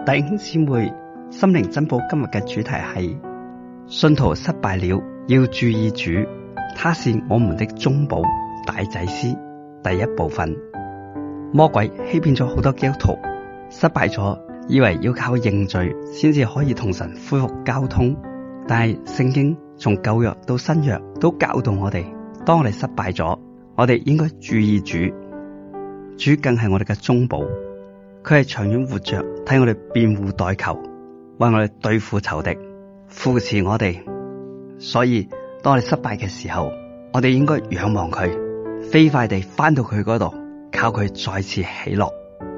弟兄姊妹，心靈珍寶今日嘅主題係信徒失敗了，要注意主，他是我們的中保大祭司。第一部分，魔鬼欺騙咗好多基督徒，失敗咗，以為要靠認罪先至可以同神恢復交通。但係聖經從舊約到新約都教導我哋，當我哋失敗咗，我哋應該注意主，主更係我哋嘅中保。佢係長遠活着，替我哋辯護代求，為我哋對付仇敵，扶持我哋。所以當我哋失敗嘅時候，我哋應該仰望佢，飛快地返到佢嗰度，靠佢再次喜樂。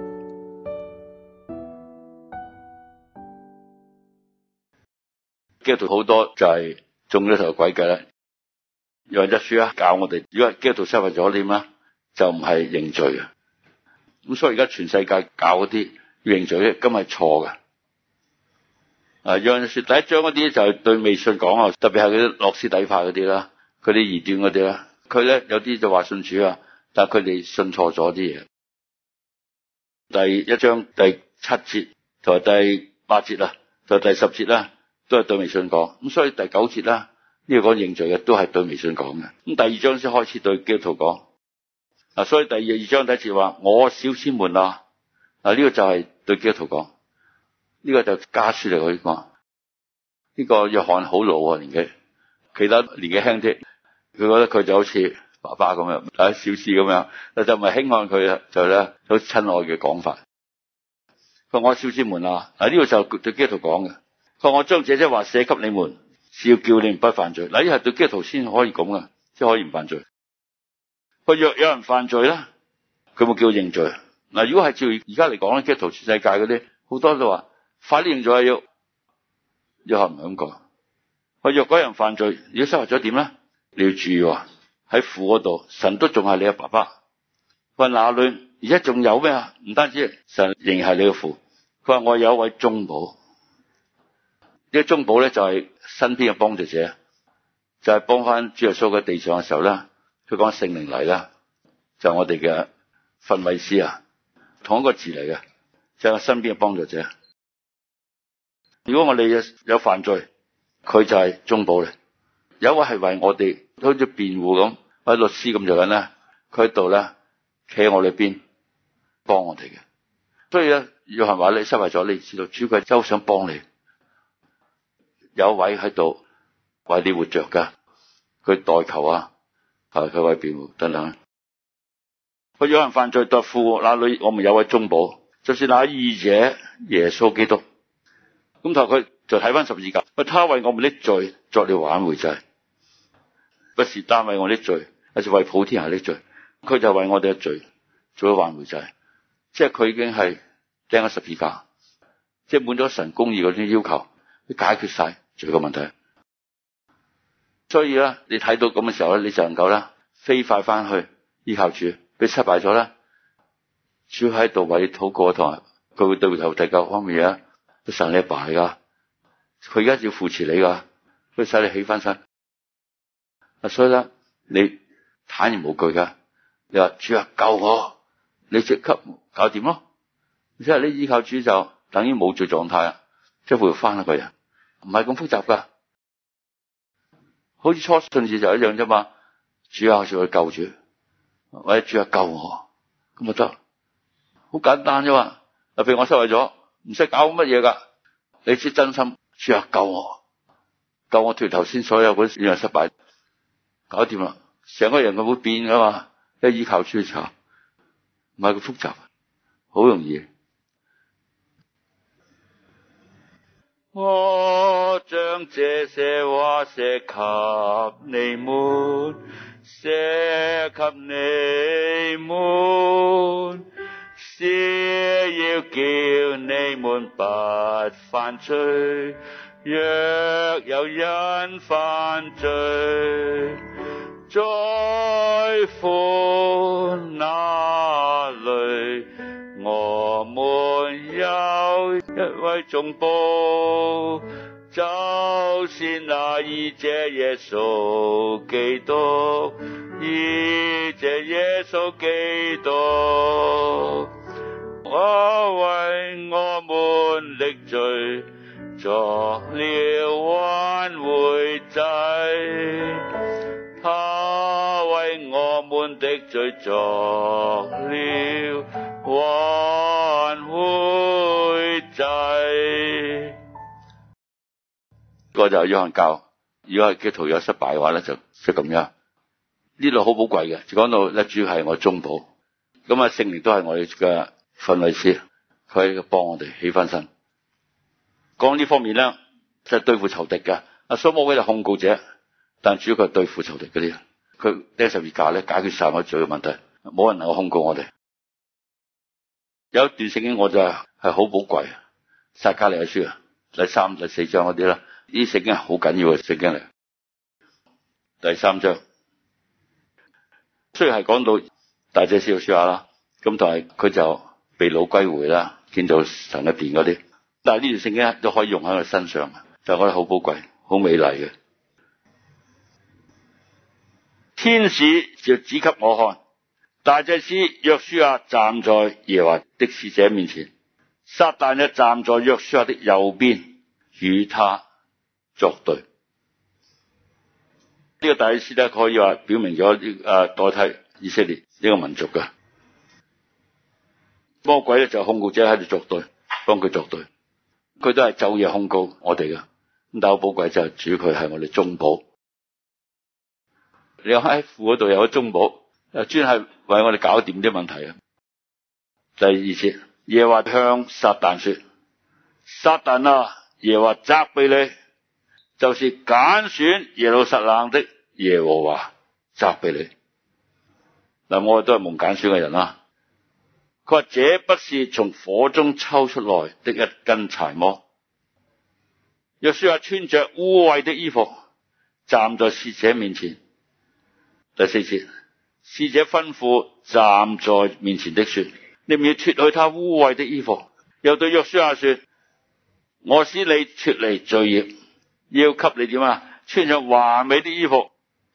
基督徒好多就係中咗頭詭計啦。約翰一書教我哋，如果基督徒失敗咗點啊，就唔係認罪啊。咁所以而家全世界教嗰啲要認罪咧，根本係錯嘅。約翰一書第一章嗰啲就係對未信講啊，特別係嗰啲諾斯底派嗰啲啦，佢啲異端嗰啲啦，佢咧有啲就話信主啊，但係佢哋信錯咗啲嘢。第一章第7節同埋第8節啦，同第10節啦，都係對未信講。咁所以第9節啦，呢個講認罪嘅都係對未信講嘅。咁第二章先開始對基督徒講。所以第二章第一節話我小子們啊，呢個就係對基督徒講，呢個就家書嚟嘅講。呢個約翰好老啊，年紀，其他年紀輕啲，佢覺得佢就好似爸爸咁樣，小師咁樣，但就唔係輕看佢啊，就咧好親愛嘅講法。佢話我小子們啊，呢個就對基督徒講嘅。佢話我將這些話寫給你們，是要叫你們不犯罪。呢係對基督徒先可以咁嘅，先可以唔犯罪。佢若有人犯罪咧，佢冇叫認罪。如果係照而家嚟講咧，基督徒全世界嗰啲好多都話快啲認罪啊，要係唔係咁講？佢若嗰人犯罪，如果失敗咗點咧？你要注意喺父嗰度，神都仲係你嘅爸爸。佢話哪裏而家仲有咩啊？唔單止神仍然係你嘅父。佢話我有一位中保，呢個中保咧就係身邊嘅幫助者，就係幫翻主耶穌喺地上嘅時候咧。佢講聖靈嚟啦，就係我哋嘅訓慰師啊，同一個字嚟嘅，就係我身邊嘅幫助者。如果我哋有犯罪，佢就係中保嚟。有一位係為我哋好似辯護咁，或者律師咁就緊咧，佢喺度咧企喺我哋邊幫我哋嘅。所以咧，約翰話你失敗咗，你知道主佢真係想幫你。有一位喺度為你活着噶，佢代求啊。佢為辯護等等。佢有人犯罪對父那裏，我們有位中保，就是那義者耶穌基督。咁同佢就睇翻十字架，他為我們的罪作了挽回祭，不是單為我的罪，而是為普天下的罪。佢就為我哋嘅罪做咗挽回祭，即係佢已經係釘咗十字架，即係滿咗神公義嗰啲要求，佢解決晒罪嘅問題。所以咧，你睇到咁嘅時候咧，你就能夠咧飛快翻去依靠主。你失敗咗咧，主喺度為你禱告，同埋佢會對頭第9方面嘢，都神你阿爸嚟噶，佢而家要扶持你噶，佢使你起翻身。所以咧，你坦然無懼噶。你話主啊救我，你即刻搞掂咯。即係你依靠主就等於冇罪狀態啊，即係回翻一個人，唔係咁複雜噶。好似初信時就一樣啫嘛，主啊，就去救主，或者主啊救我，咁就得，好簡單啫嘛。譬如我失敗咗，唔使搞乜嘢噶，你知真心，主啊救我，救我脫頭先所有嗰啲樣失敗，搞掂啦，成個人佢會變噶嘛，一依靠主嘅時候，唔係咁複雜，好容易。我將這些話寫給你們，寫給你們，是要叫你們不犯罪。若有人犯罪，在父那裡，我們有一位中保，就是那義者耶穌基督，義者耶穌基督。我為我們的罪，作了挽回祭。他為我們的罪作了挽回祭。個就約翰教，如果係基督徒有失敗嘅話咧，就即係咁樣。呢度好寶貴嘅，就講到咧，主係我中保，咁啊聖靈都係我哋嘅訓誨師，佢幫我哋起翻身。講呢方面咧，就係對付仇敵嘅。所以魔鬼就控告者，但主要佢係對付仇敵嗰啲，佢釘十字架咧解決晒我罪嘅問題，冇人能夠控告我哋。有一段聖經我就係好寶貴，撒迦利亞書啊，第3、第4章嗰啲啦，呢啲聖經係好緊要嘅聖經嚟。第3章。雖然係講到大祭司約書亞啦，咁但係佢就被擄歸回啦，建造神嘅殿嗰啲，但係呢段聖經都可以用喺佢身上，就覺得好寶貴、好美麗嘅。天使就指給我看，大祭司約書亞站在耶和華的使者面前，撒旦就站在約書亞的右邊，與他作對。呢個大祭司咧，可以話表明咗代替以色列呢個民族嘅魔鬼咧，就控告者喺度作對，幫佢作對，佢都係晝夜控告我哋嘅。咁但係好寶貴就係主佢係我哋中保。你喺父嗰度有個中保，專係為我哋搞掂啲問題啊。第2節，耶和華向撒旦說：撒旦啊，耶和華責備你，就是揀選耶路撒冷的耶和華責備你。嗱，我哋都係蒙揀選嘅人啦。佢話：這不是從火中抽出來的一根柴禾。約書亞穿着污穢的衣服，站在使者面前。第4節，使者吩咐站在面前的說：你唔要脫去他污穢的衣服。又對約書亞說：我使你脫離罪孽，要給你點啊？穿上華美的衣服。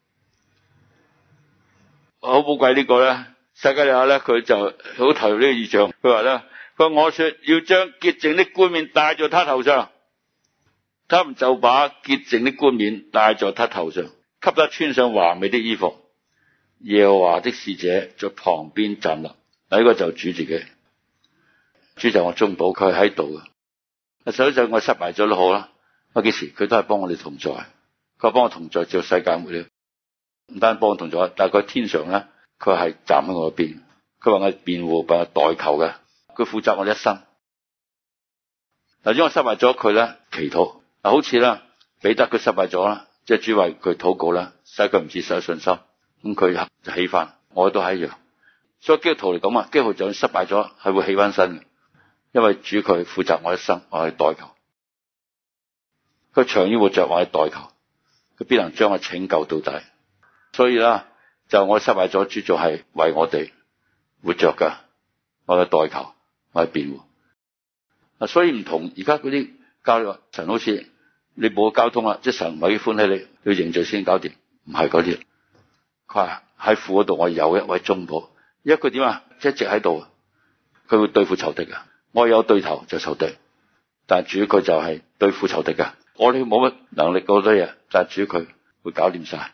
好寶貴呢個咧，撒迦利亞咧，佢就好投入呢個異象。佢話咧，我說要將潔淨的冠冕戴在他頭上，他們就把潔淨的冠冕戴在他頭上，給他穿上華美的衣服。耶和華的使者在旁邊站立。呢個就主自己，主就我中保，佢喺度嘅。所以就我失敗咗都好啦，我幾時佢都係幫我哋同在，佢幫我同在，照世界末了。唔單幫我同在，但係佢天上咧，佢係站喺我邊，佢話我辯護，幫我代求嘅，佢負責我一生。嗱，如果我失敗咗，佢咧祈禱，好似啦彼得佢失敗咗啦，即係主為佢禱告啦，使佢唔致失去信心，咁佢就起翻，我都係一樣。所以基督徒嚟講啊，基督徒就算失敗咗，係會起翻身嘅，因為主佢負責我一生，我係代求，佢長遠活着，我係代求，佢必能將我拯救到底。所以啦，就我失敗咗，主就係為我哋活着噶，我嘅代求，我係辯護。所以唔同而家嗰啲交流，神好似你冇交通啦，即係神唔係歡喜你，要認罪先搞掂，唔係嗰啲。佢話喺父嗰度，我有一位中保，因為佢點啊，一直喺度，佢會對付仇敵噶。我有對頭就仇敵，但係主佢就係對付仇敵噶。我哋冇乜能力嗰多嘢，但係主佢會搞掂晒。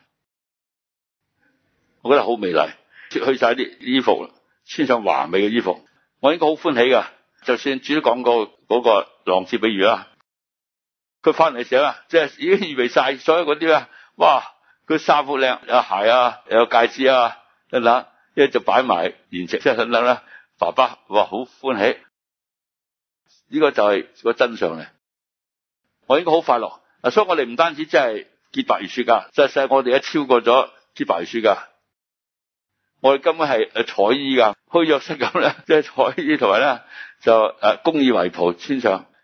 我覺得好美麗，脫去晒啲衣服，穿上華美嘅衣服，我應該好歡喜噶。就算主都講過嗰個浪子比喻啦，佢翻嚟嘅時候啊，即係已經預備晒所有嗰啲啦，哇！佢衫褲靚，有鞋啊，有戒指啊，等等，一就擺埋筵席，即係等等啦。爸爸哇，好歡喜，呢個就係個真相嚟。我應該好快樂，所以我哋唔單止真係結白如雪噶，實際我哋一超過咗結白如雪噶。我哋根本係彩衣噶，好似約瑟咁咧，即係彩衣同埋咧就公義圍袍穿上，